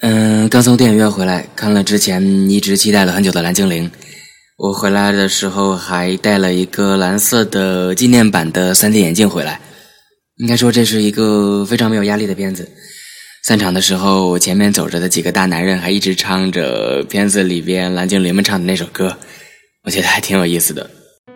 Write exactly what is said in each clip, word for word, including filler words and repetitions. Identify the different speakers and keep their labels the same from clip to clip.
Speaker 1: 嗯，刚从电影院回来，看了之前一直期待了很久的蓝精灵。我回来的时候还带了一个蓝色的纪念版的 三 D 眼镜回来。应该说这是一个非常没有压力的片子。散场的时候，我前面走着的几个大男人还一直唱着片子里边蓝精灵们唱的那首歌，我觉得还挺有意思的。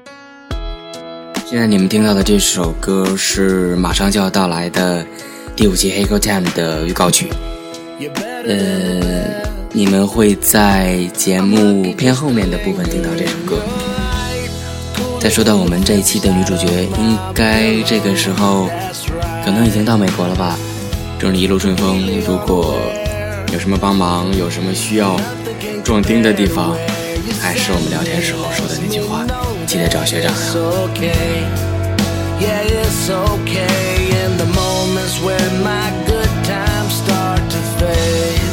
Speaker 1: 现在你们听到的这首歌是马上就要到来的第五期 Hey Go Time 的预告曲。呃，你们会在节目偏后面的部分听到这首歌。再说到我们这一期的女主角，应该这个时候可能已经到美国了吧。祝你一路顺风，如果有什么帮忙，有什么需要壮丁的地方，还是我们聊天时候说的那句话，记得找学长啊。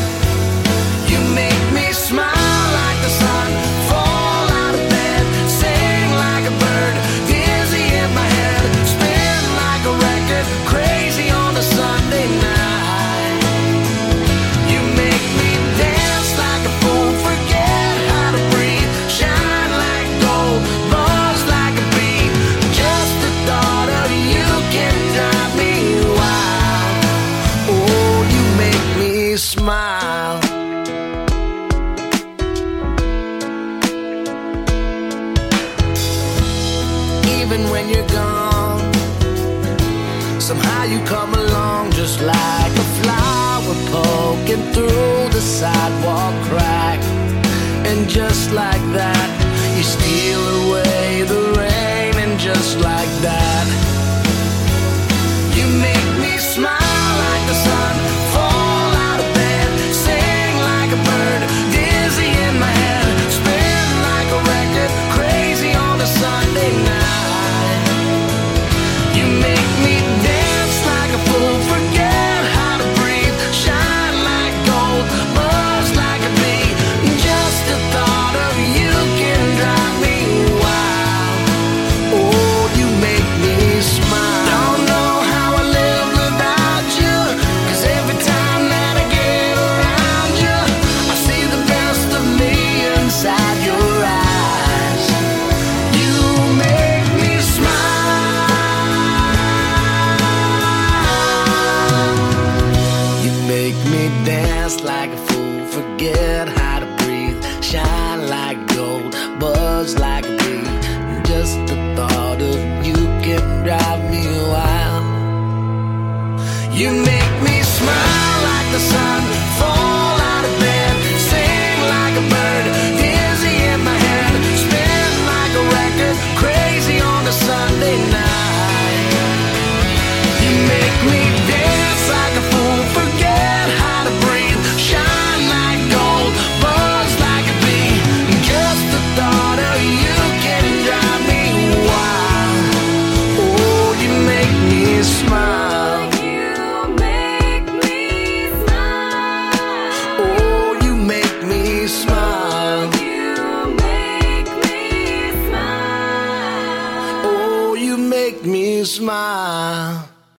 Speaker 2: Smile. Even when you're gone, somehow you come along just like a flower poking through the sidewalk crack. And just like that, you steal away the rain. And just like that, you make me smile like the sun. Like a fool, forget how to breathe. Shine like gold, buzz like a bee. Just the thought of you can drive me wild. You make me smile like the sun, fall out of bed, sing like a bird, dizzy in my head, spin like a record, crazy on a Sunday night. You make me dance like a fool, forget how to breathe. Shine like gold, buzz like a bee. Just the thought of you can drive me wild. Oh, you make me smile.
Speaker 3: You make me smile.
Speaker 2: Oh, you make me smile.
Speaker 3: You make me smile.
Speaker 2: Oh, you make me smile.